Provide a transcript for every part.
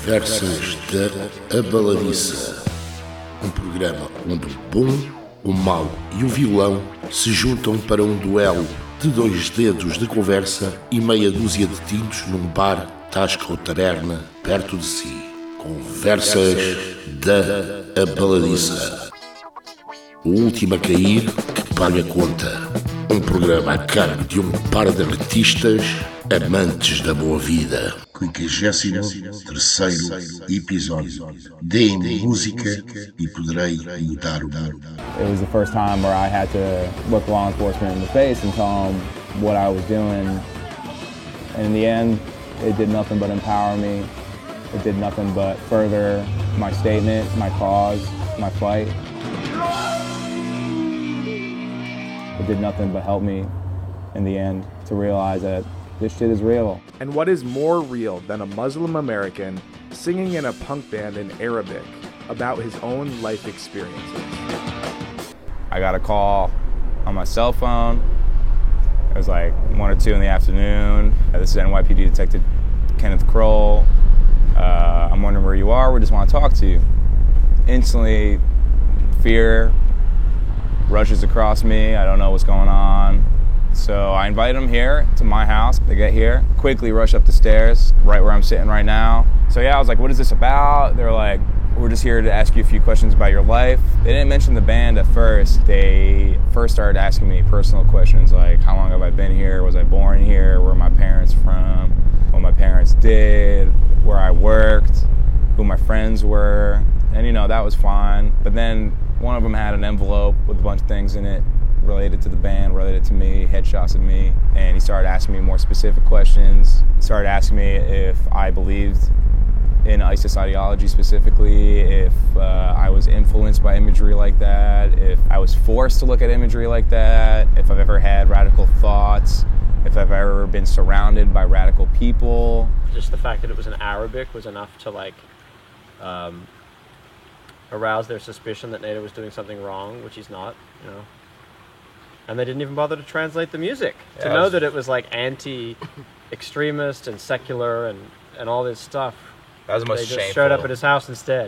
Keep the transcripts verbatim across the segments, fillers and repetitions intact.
Conversas da Abaladiça, um programa onde o bom, o mau e o vilão se juntam para um duelo de dois dedos de conversa e meia dúzia de tintos num bar, tasca ou taberna perto de si. Conversas da Abaladiça. O último a cair que paga a conta. Um programa a cargo de um par de artistas amantes da boa vida. quinquagésimo terceiro episódio. Deem-me música e poderei mudar o mundo. It was the first time where I had to look law enforcement in the face and tell them what I was doing. And in the end, it did nothing but empower me. It did nothing but further my statement, my cause, my fight. It did nothing but help me in the end to realize that this shit is real. And what is more real than a Muslim American singing in a punk band in Arabic about his own life experiences? I got a call on my cell phone. It was like one or two in the afternoon. This is N Y P D Detective Kenneth Kroll. Uh, I'm wondering where you are. We just want to talk to you. Instantly, fear rushes across me. I don't know what's going on. So I invite them here to my house. They get here, quickly rush up the stairs, right where I'm sitting right now. So yeah, I was like, what is this about? They're like, we're just here to ask you a few questions about your life. They didn't mention the band at first. They first started asking me personal questions like, how long have I been here? Was I born here? Where are my parents from? What my parents did? Where I worked? Who my friends were? And you know, that was fine. But then one of them had an envelope with a bunch of things in it related to the band, related to me, headshots of me, and he started asking me more specific questions. He started asking me if I believed in ISIS ideology specifically, if uh, I was influenced by imagery like that, if I was forced to look at imagery like that, if I've ever had radical thoughts, if I've ever been surrounded by radical people. Just the fact that it was in Arabic was enough to like um, arouse their suspicion that Nader was doing something wrong, which he's not, you know. And they didn't even bother to translate the music. Yeah, to know was... that it was like anti-extremist and secular and, and all this stuff. That was the most they just shameful. Showed up at his house instead.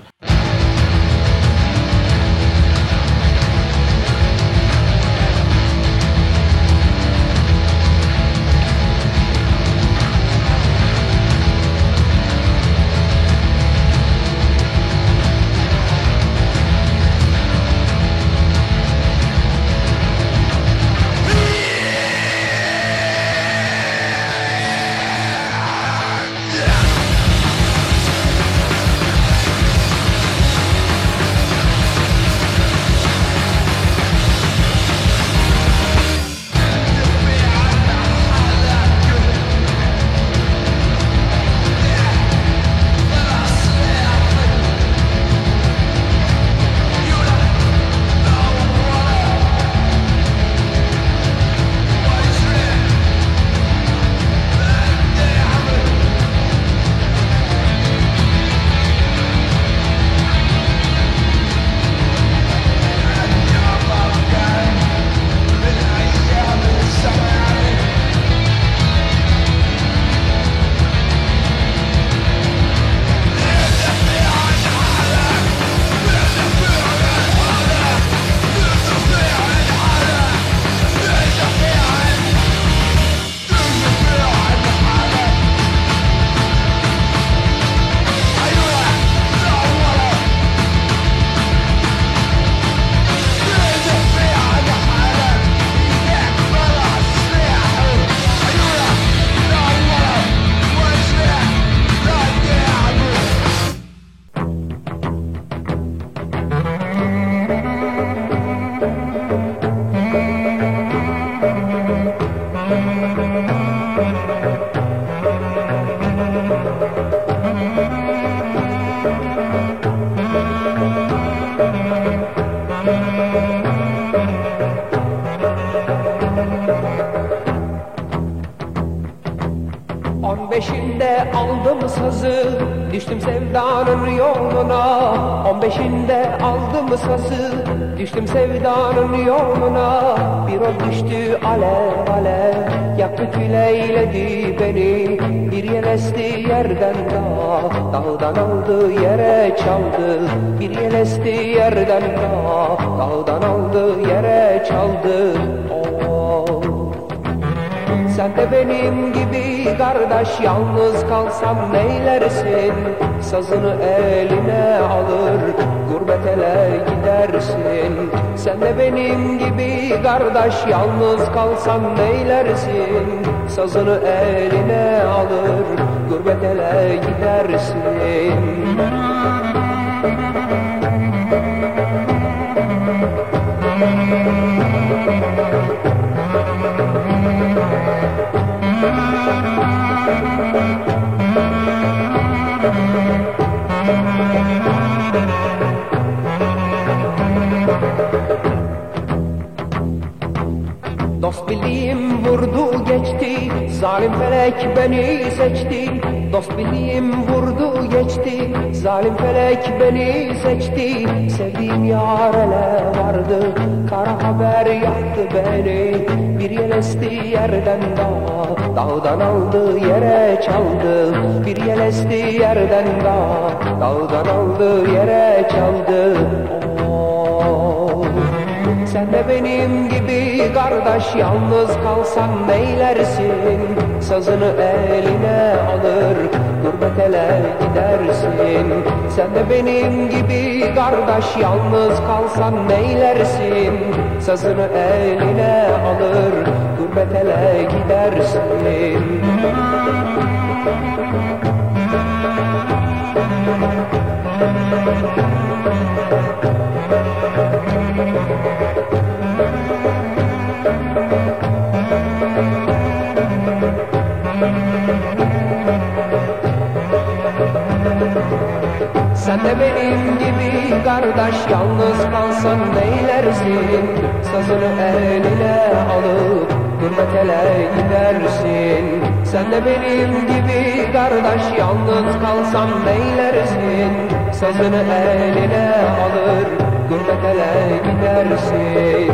On beşinde aldım sazı, düştüm sevdanın yoluna. On beşinde aldım sazı, düştüm sevdanın yoluna. Bir o düştü alev alev, yaktı küleyledi beni. Bir yel esti yerden dağ, dağdan aldı yere çaldı. Bir yel esti yerden dağ, dağdan aldı yere çaldı. Oh. Sen de benim gibi kardeş yalnız kalsam neylersin? Sazını eline alır gurbet ele gidersin. Sen de benim gibi kardeş yalnız kalsam neylersin? Sazını eline alır gurbet ele gidersin. Dost bildiğim vurdu geçti, zalim felek beni seçti. Dost bildiğim vurdu geçti, zalim felek beni seçti. Sevdiğim yar ele vardı, kara haber yaktı beni. Bir yel esti yerden dağ, dağdan aldı yere çaldı. Bir yel esti yerden dağ, dağdan aldı yere çaldı. Oh. Sen de benim gibi kardeş yalnız kalsan neylersin? Sazını eline alır gurbet ele gidersin. Sen de benim gibi kardeş yalnız kalsan neylersin? Sazını eline alır gurbet ele gidersin. Sen de benim gibi kardeş yalnız kalsan neylersin? Sazını eline alıp gurbet ele gidersin. Sen de benim gibi kardeş yalnız kalsan neylersin? Sazını eline alır gurbet ele gidersin.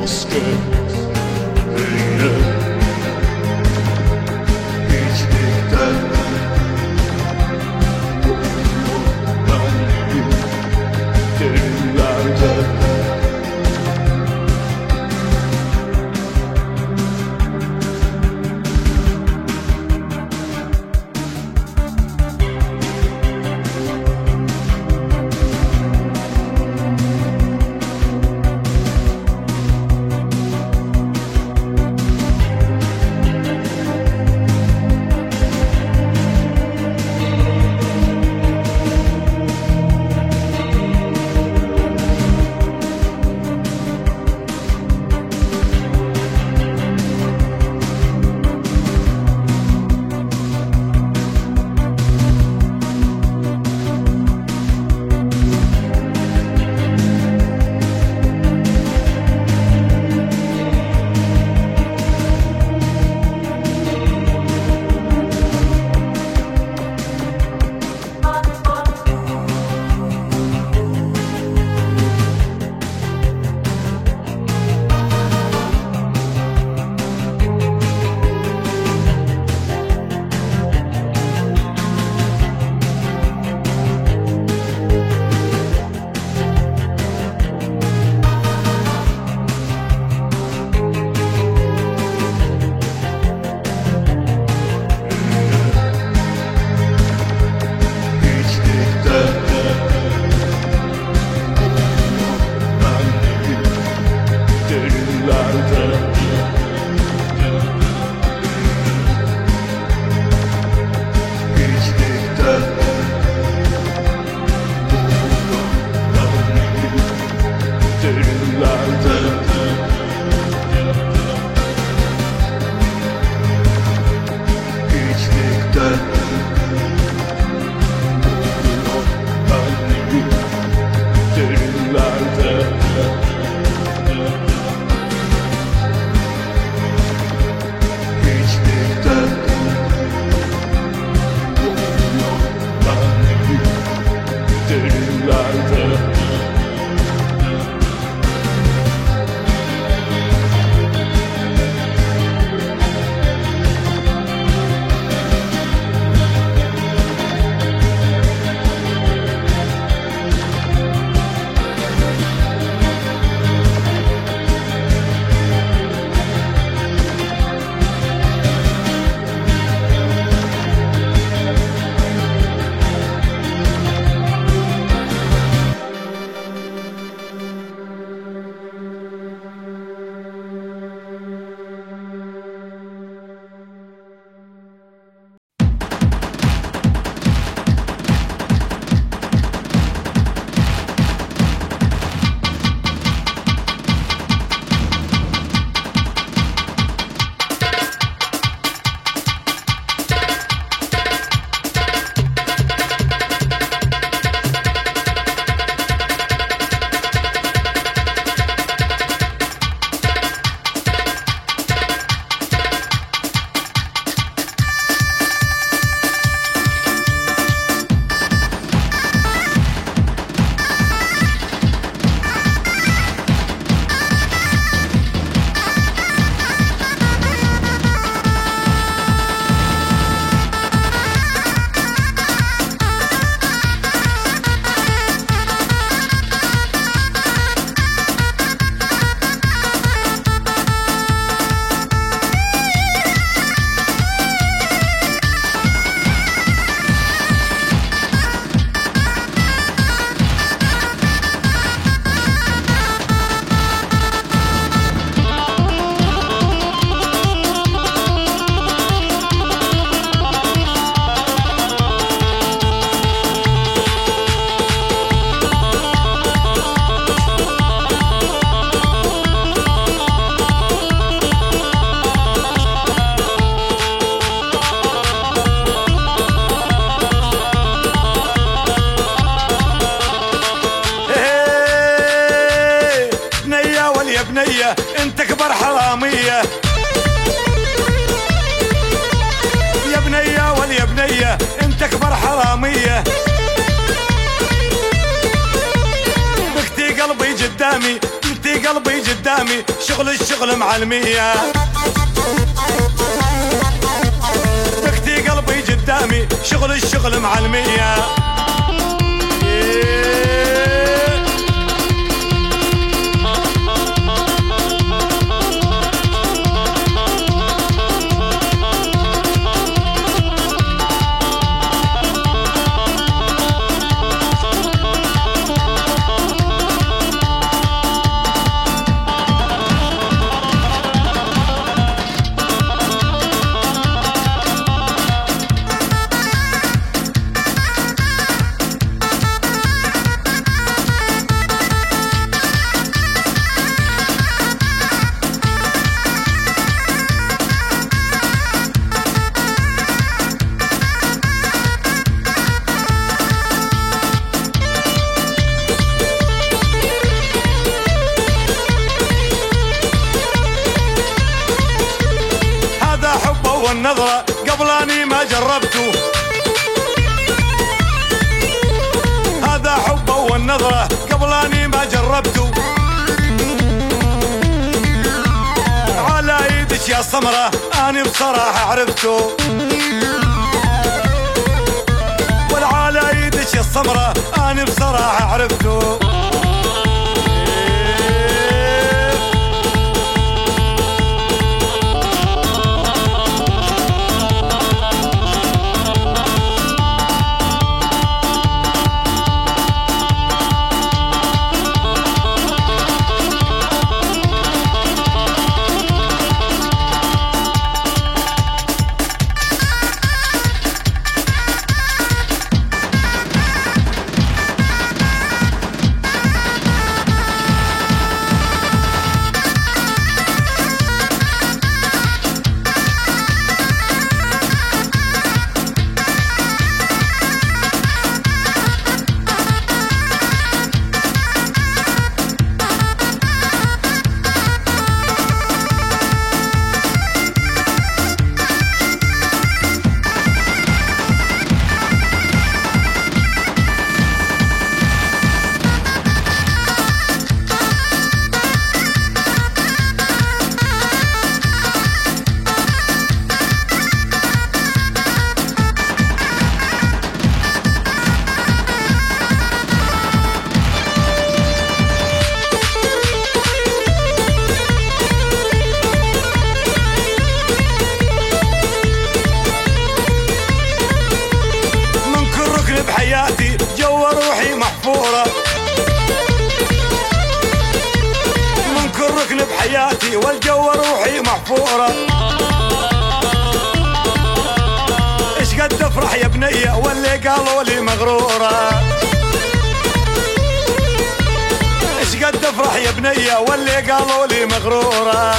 başka dünya hiçlikten ben derinlerde بنية انت كبر حرامية يا بنية واليا بنية انت كبر حرامية بكتي قلبي قدامي بكتي بختي قلبي قدامي شغل الشغل معلمية بختي قلبي قدامي شغل الشغل معلمية والنظرة قبل أني ما جربته هذا حبه والنظرة قبل أني ما جربته على ايدك يا سمرة أني بصراحة عرفته والعلى ايدك يا سمرة أني بصراحة عرفته بحياتي جوا روحي محفورة من كل ركن بحياتي والجو روحي محفورة ايش قد افرح يا بنية واللي قالوا لي مغرورة ايش قد افرح يا بنية واللي قالوا لي مغرورة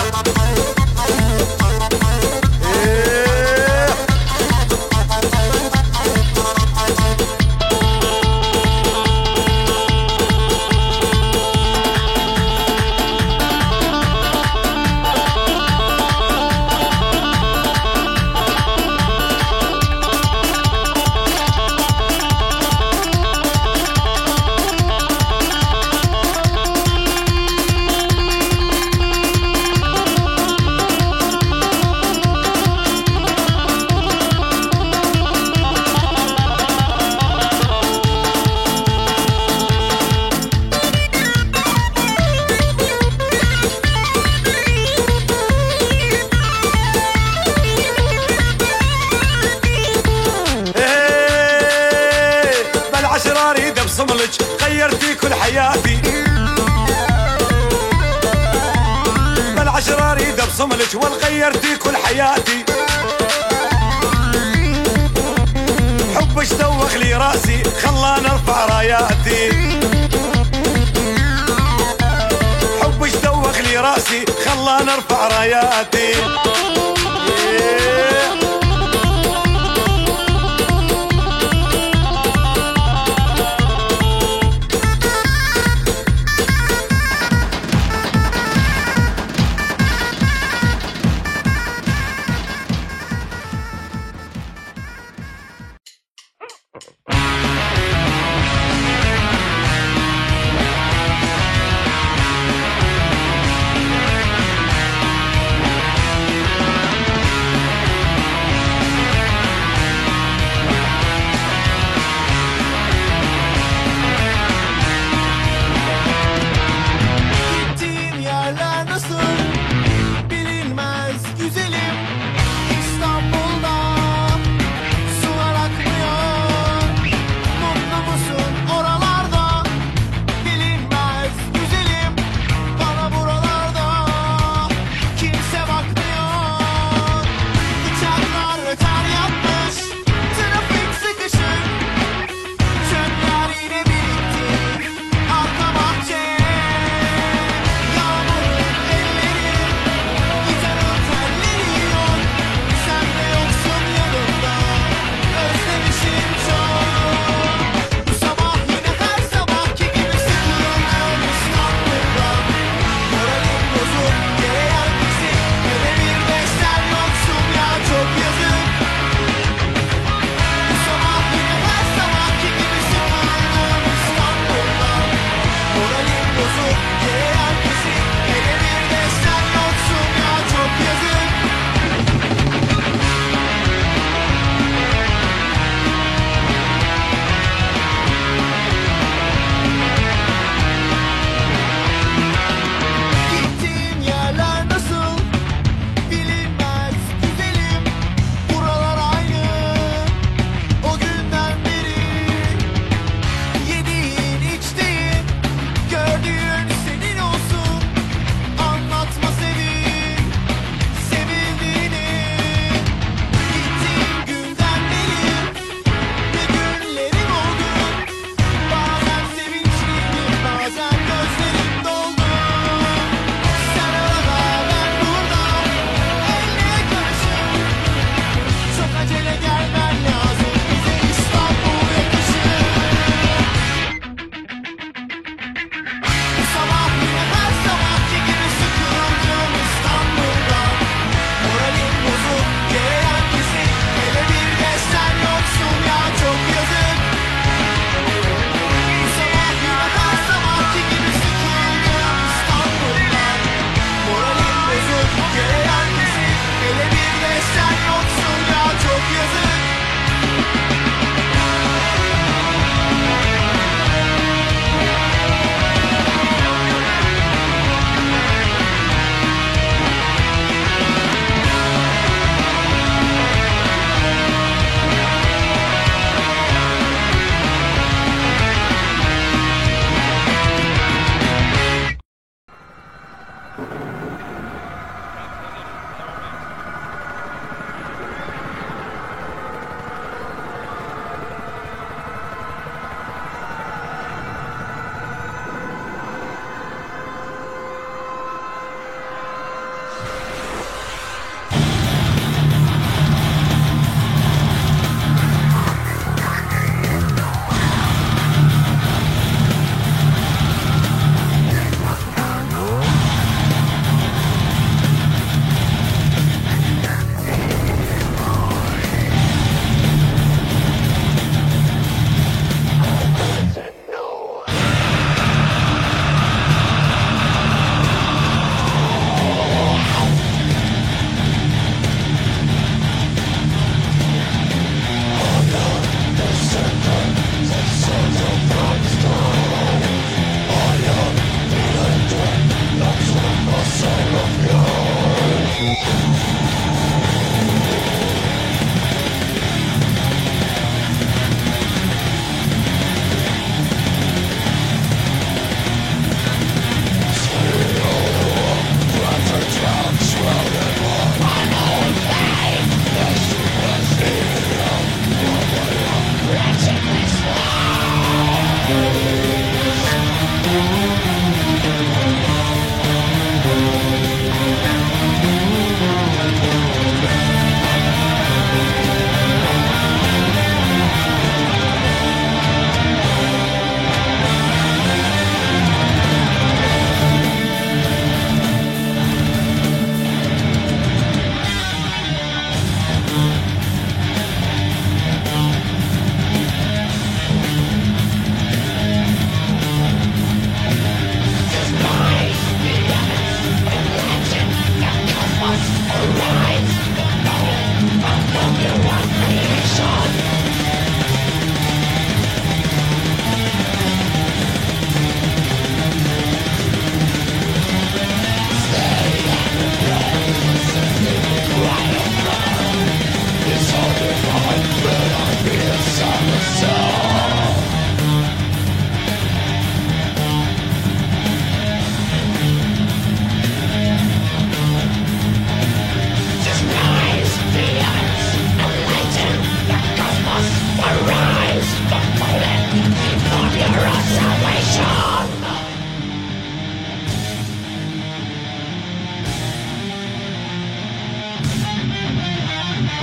غيرتي كل حياتي بالعشرة اريد ابصملك والغيرتي كل حياتي حبك دوخ لي راسي خلاني ارفع راياتي حبك دوخ لي راسي خلاني ارفع راياتي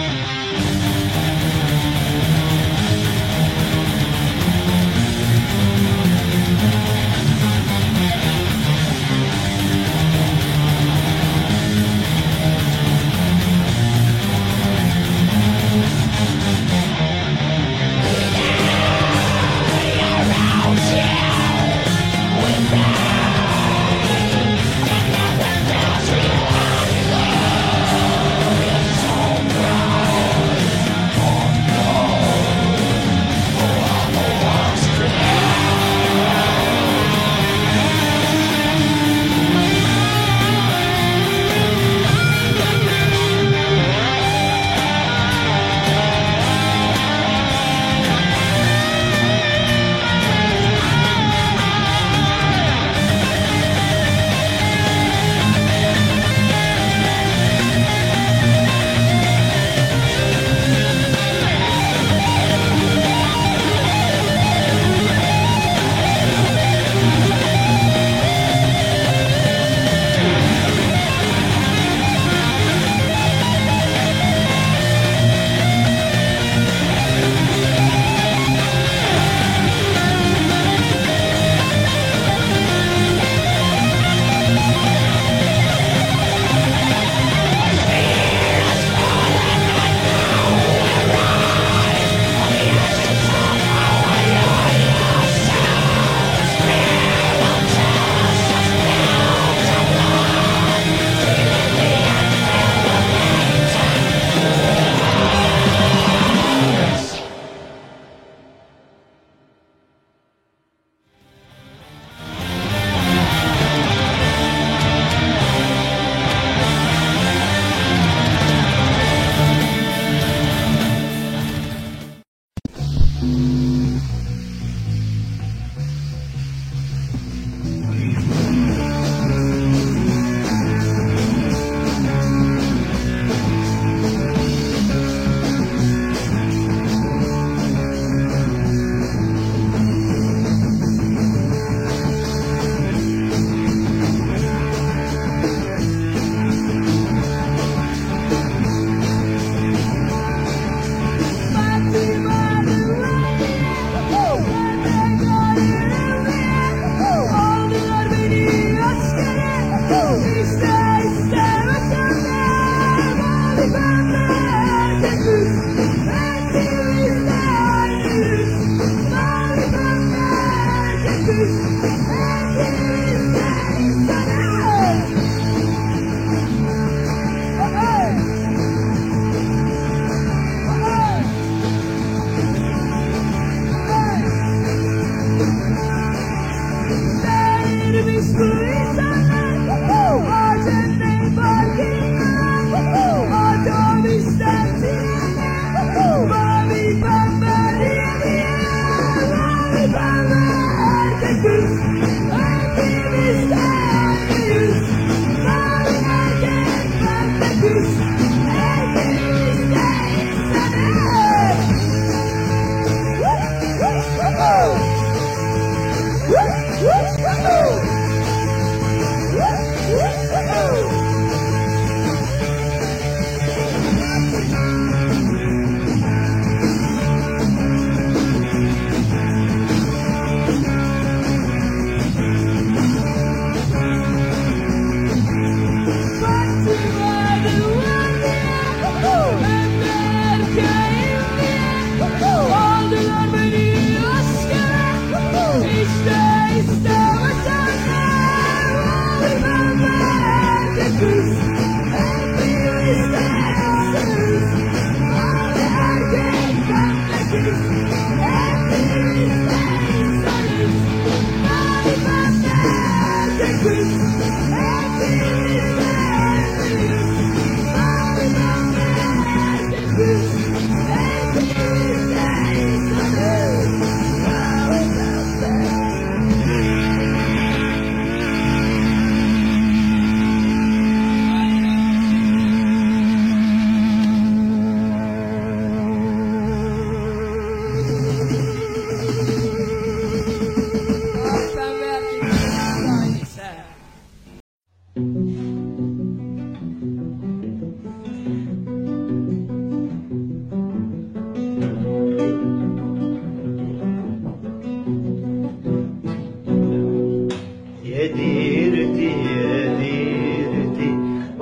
We're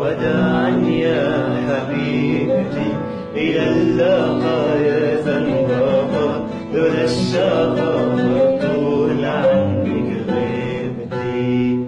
وداعا يا حبيبتي إلى اللقاء يا زنبقة لولا الشقاء طول عنك غيبتي.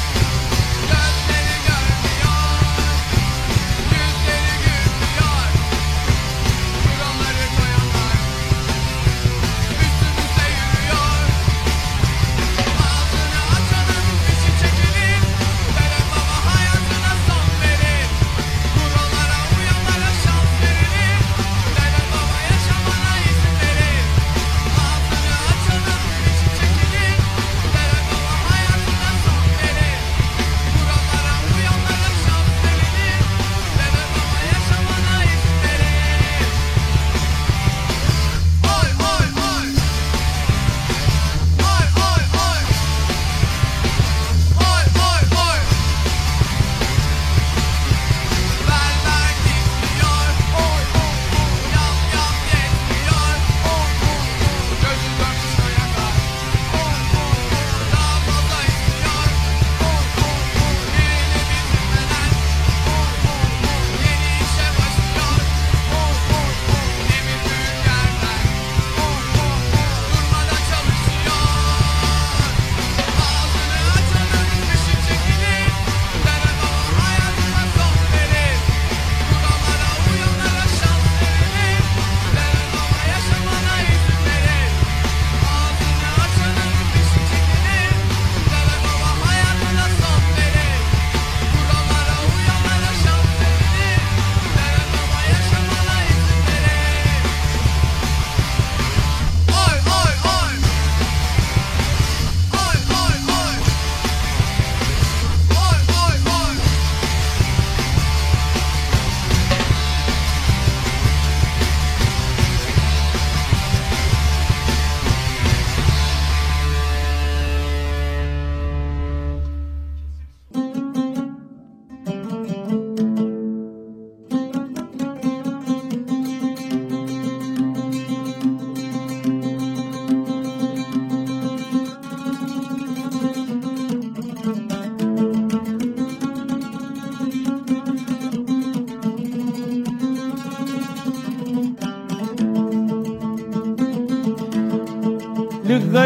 Gözleri gülmüyor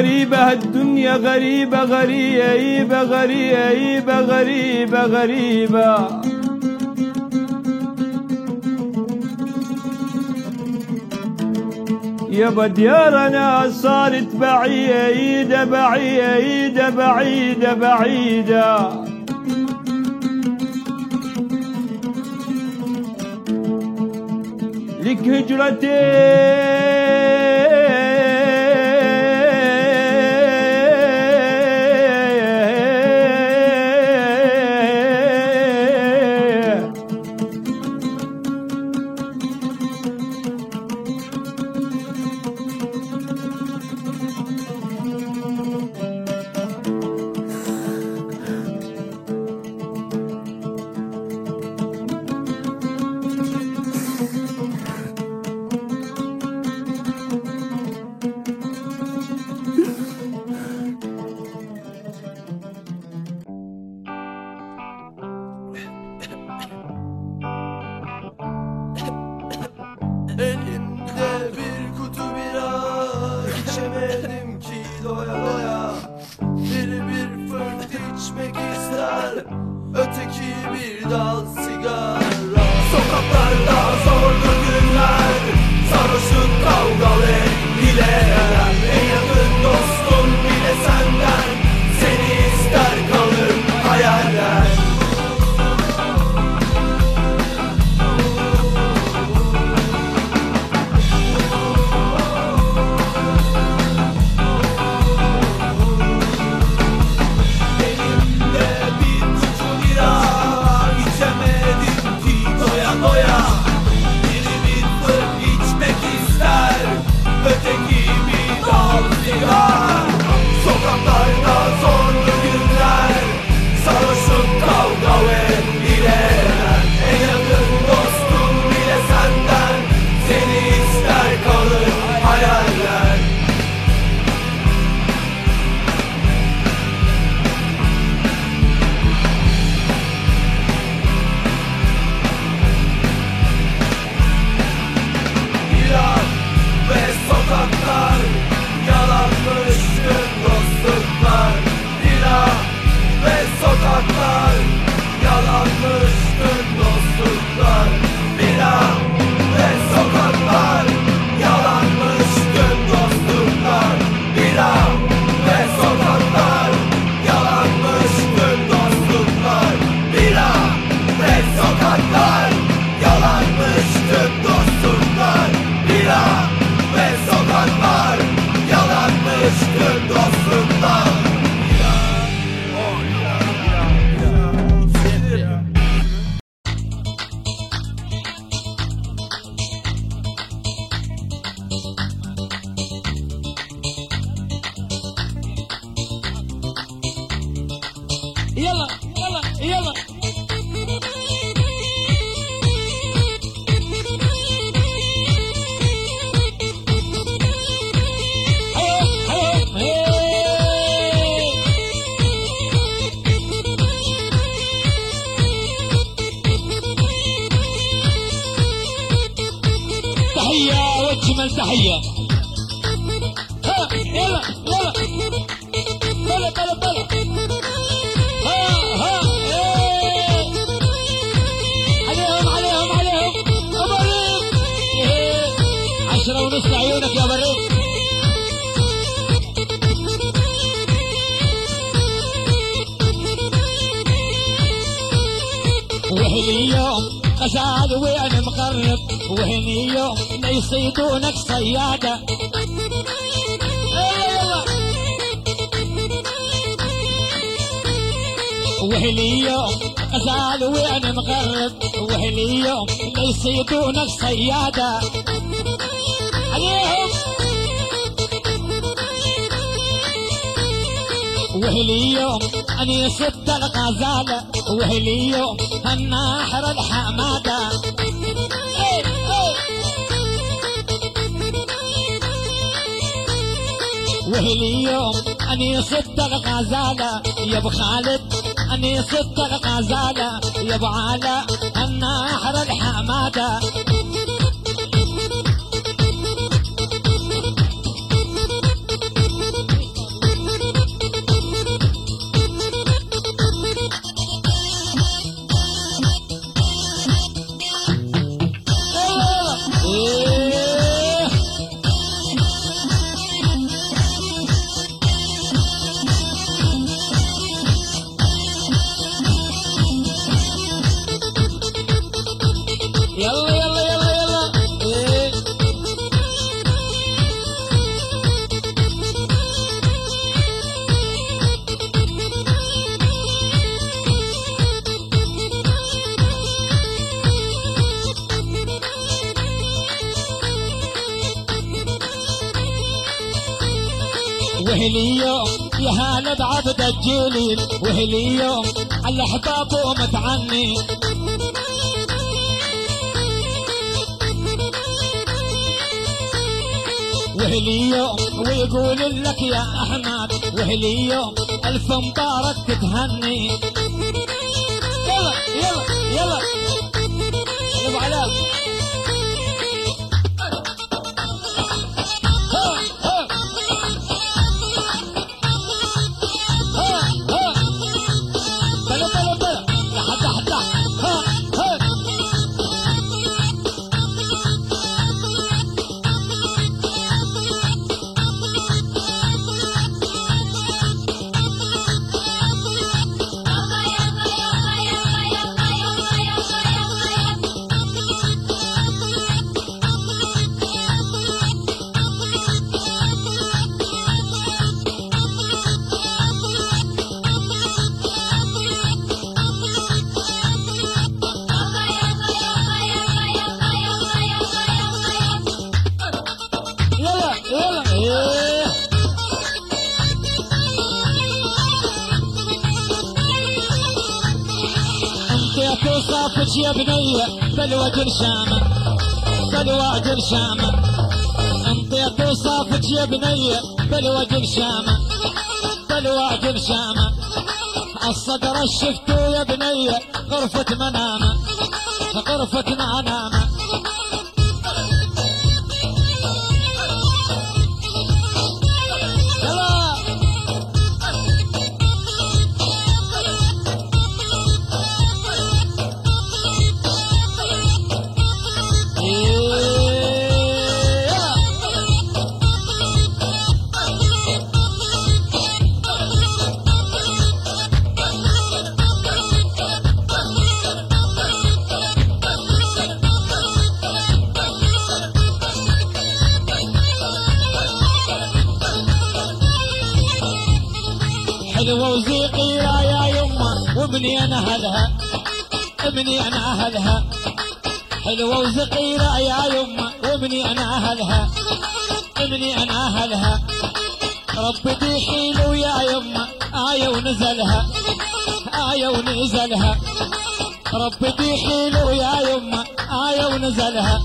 غريبة هالدنيا غريبة غريبة غريبة غريبة غريبة يابا ديارنا صارت بعيدة بعيدة بعيدة بعيدة لك هجرتين Elimde bir kutu bira, içemedim ki doya doya. Biri bir fırt içmek ister, öteki bir dal sigara. Sokaklarda zorlu günler, sarhoşluk kavgalı hileler. En yakın dostun bile senden, seni ister kalır hayaller. Sokaklarda zorlu günler, sarhoşluk kavga ve hileler. En yakın dostum bile senden, seni ister kalır hayaller. İran ve sokaklar yalanmış tüm dostluklar. Bira ve sokaklar yalanmış tüm dostluklar. Bira ve sokaklar yalanmış tüm dostluklar. Bira ve sokaklar yalanmış tüm dostluklar. Bira ve sokaklar yalanmış tüm dostluklar. Bira ve sokaklar yalanmış tüm dostluklar. يلا يلا يلا تحية واجمل تحية. ها يلا يلا بلا بلا بلا ها ها ايه عليهم عليهم عليهم ابريق ايه عشرة ونص عيونك يا بريق. وهني يوم غزال وانا مقرب، وهني يوم لا يصيدونك صيادة. وهني يوم غزال وانا مقرب، وهني يوم لا يصيدونك صيادة. عليهم وهلي يوم اني صدت الغزالة، وهلي يوم الناحر الحمادة. ايه ايه وهلي يوم اني صدت الغزالة يا ابو خالد، اني صدت الغزالة يا ابو علاء الناحر الحمادة. وهليوم يا هلا بعبد الجليل وهليوم على احبابه متعني وهليوم ويقول لك يا احمد وهليوم الف مبارك تتهني يلا يلا يلا ابو علاء صافت يا بنية بالوجه الشامة بالوجه الشامة انطيت وصافت يا بنية بالوجه الشامة بالوجه الشامة الصدر الشفتو يا بنية غرفة منامة غرفة منامة حلوة وزيقية يا يمه وابني انا اهلها ابني انا اهلها حلوة وزقيرة يا يمه وابني انا اهلها ابني انا اهلها ربي دي حلو يا يمه آية ونزلها آية ونزلها ربي دي حلو يا يمه آية ونزلها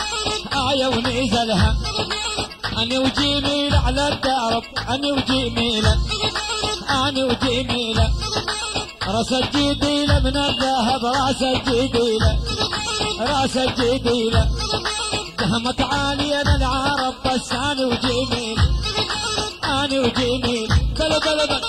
آية ونزلها أنا وجميل على الدرب أنا وجميلة أنا وجميلة راس الجديلة من الذهب راس الجديلة راس الجديلة دهمت عالية من العرب بس أنا وجميل أنا وجميل بلا بلا بلا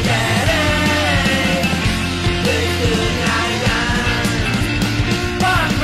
Bak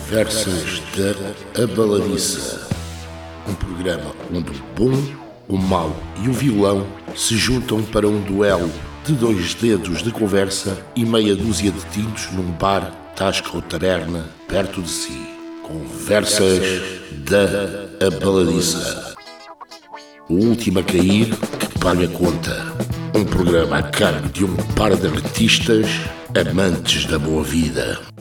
Conversas da Abaladiça, um programa onde o bom, o mau e o vilão se juntam para um duelo de dois dedos de conversa e meia dúzia de tintos num bar, tasca ou taberna perto de si. Conversas da Abaladiça. O último a cair que paga a conta. Um programa a cargo de um par de artistas amantes da boa vida.